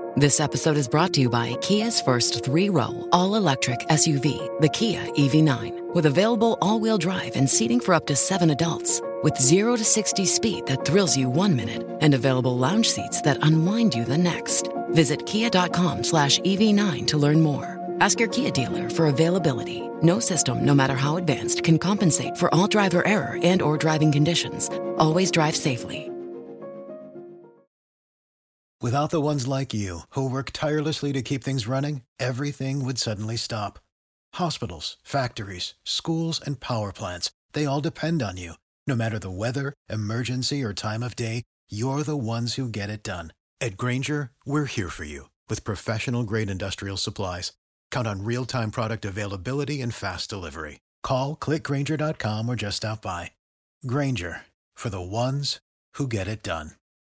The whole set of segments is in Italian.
This episode is brought to you by Kia's first 3-row, all-electric SUV, the Kia EV9, with available all-wheel drive and seating for up to 7 adults, with 0 to 60 speed that thrills you 1 minute and available lounge seats that unwind you the next. Visit kia.com/EV9 to learn more. Ask your Kia dealer for availability. No system, no matter how advanced, can compensate for all driver error and or driving conditions. Always drive safely. Without the ones like you, who work tirelessly to keep things running, everything would suddenly stop. Hospitals, factories, schools, and power plants, they all depend on you. No matter the weather, emergency, or time of day, you're the ones who get it done. At Grainger, we're here for you with professional-grade industrial supplies. Count on real-time product availability and fast delivery. Call, click Grainger.com or just stop by. Grainger, for the ones who get it done.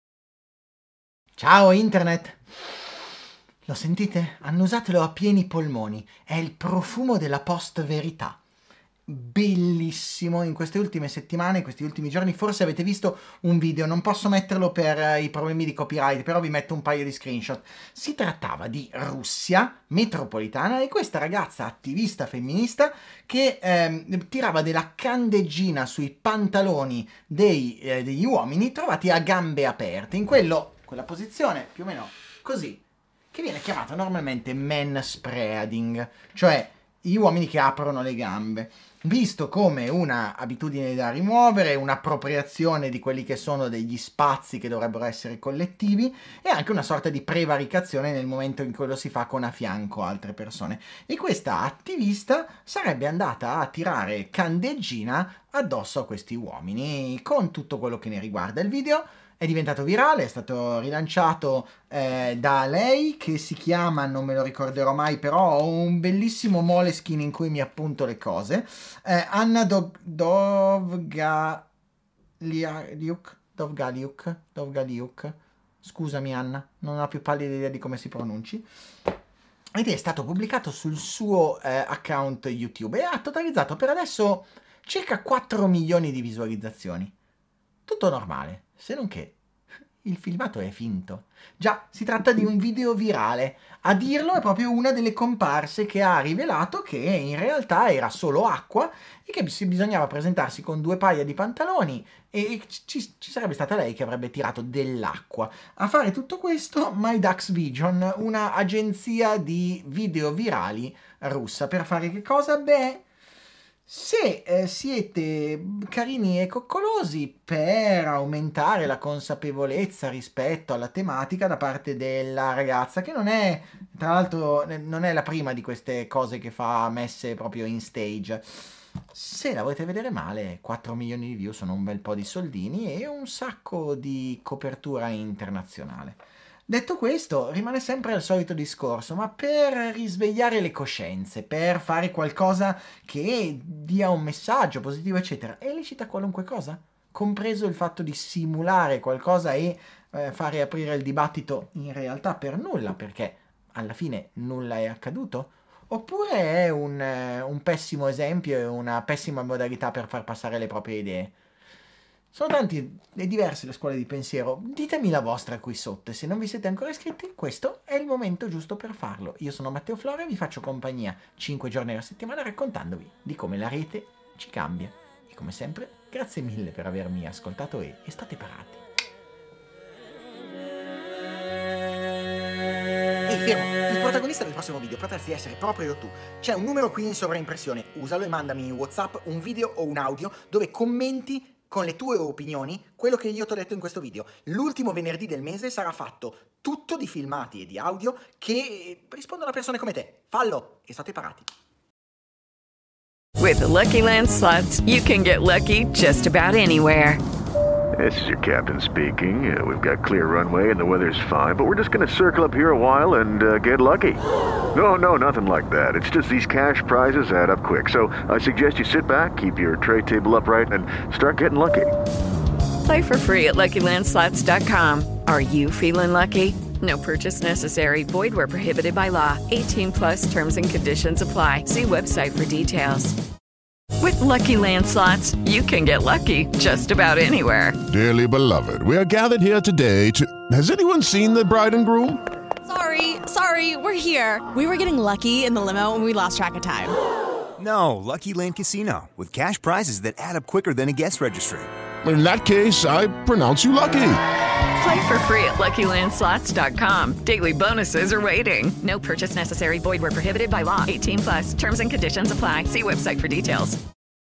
Ciao Internet! Lo sentite? Annusatelo a pieni polmoni. È il profumo della post-verità. Bellissimo. In queste ultime settimane, in questi ultimi giorni, forse avete visto un video, non posso metterlo per i problemi di copyright, però vi metto un paio di screenshot. Si trattava di Russia metropolitana e questa ragazza attivista femminista che tirava della candeggina sui pantaloni degli uomini trovati a gambe aperte, in quella posizione più o meno così, che viene chiamata normalmente manspreading, cioè gli uomini che aprono le gambe, visto come una abitudine da rimuovere, un'appropriazione di quelli che sono degli spazi che dovrebbero essere collettivi e anche una sorta di prevaricazione nel momento in cui lo si fa con a fianco altre persone. E questa attivista sarebbe andata a tirare candeggina addosso a questi uomini, con tutto quello che ne riguarda. Il video è diventato virale, è stato rilanciato da lei, che si chiama, non me lo ricorderò mai, però ho un bellissimo Moleskine in cui mi appunto le cose, Anna Dovgaliuk, scusami Anna, non ho più pallida idea di come si pronunci, ed è stato pubblicato sul suo account YouTube e ha totalizzato per adesso circa 4 milioni di visualizzazioni. Tutto normale, se non che il filmato è finto. Già, si tratta di un video virale. A dirlo è proprio una delle comparse che ha rivelato che in realtà era solo acqua e che bisognava presentarsi con 2 paia di pantaloni e ci sarebbe stata lei che avrebbe tirato dell'acqua. A fare tutto questo MyDax Vision, una agenzia di video virali russa. Per fare che cosa? Beh, se siete carini e coccolosi, per aumentare la consapevolezza rispetto alla tematica da parte della ragazza, che non è, tra l'altro, non è la prima di queste cose che fa messe proprio in stage. Se la volete vedere male, 4 milioni di view sono un bel po' di soldini e un sacco di copertura internazionale. Detto questo, rimane sempre il solito discorso, ma per risvegliare le coscienze, per fare qualcosa che dia un messaggio positivo, eccetera, è lecita qualunque cosa, compreso il fatto di simulare qualcosa e fare aprire il dibattito in realtà per nulla, perché alla fine nulla è accaduto? Oppure è un pessimo esempio e una pessima modalità per far passare le proprie idee? Sono tanti e diverse le scuole di pensiero, ditemi la vostra qui sotto e se non vi siete ancora iscritti, questo è il momento giusto per farlo. Io sono Matteo Flora e vi faccio compagnia 5 giorni alla settimana raccontandovi di come la rete ci cambia. E come sempre, grazie mille per avermi ascoltato e state parati. Ehi, fermo! Il protagonista del prossimo video potresti essere proprio tu. C'è un numero qui in sovraimpressione, usalo e mandami in WhatsApp un video o un audio dove commenti con le tue opinioni quello che io ti ho detto in questo video. L'ultimo venerdì del mese sarà fatto tutto di filmati e di audio che rispondono a persone come te. Fallo e state parati. With the Lucky Land Slots, you can get lucky just about anywhere. This is your captain speaking. We've got clear runway and the weather's fine, but we're just going to circle up here a while and get lucky. No, nothing like that. It's just these cash prizes add up quick. So I suggest you sit back, keep your tray table upright, and start getting lucky. Play for free at LuckyLandSlots.com. Are you feeling lucky? No purchase necessary. Void where prohibited by law. 18 plus terms and conditions apply. See website for details. With Lucky Land Slots, you can get lucky just about anywhere. Dearly beloved, we are gathered here today to... Has anyone seen the bride and groom? Sorry, we're here. We were getting lucky in the limo and we lost track of time. No, Lucky Land Casino, with cash prizes that add up quicker than a guest registry. In that case, I pronounce you lucky. Play for free at LuckyLandSlots.com. Daily bonuses are waiting. No purchase necessary. Void where prohibited by law. 18+. Terms and conditions apply. See website for details.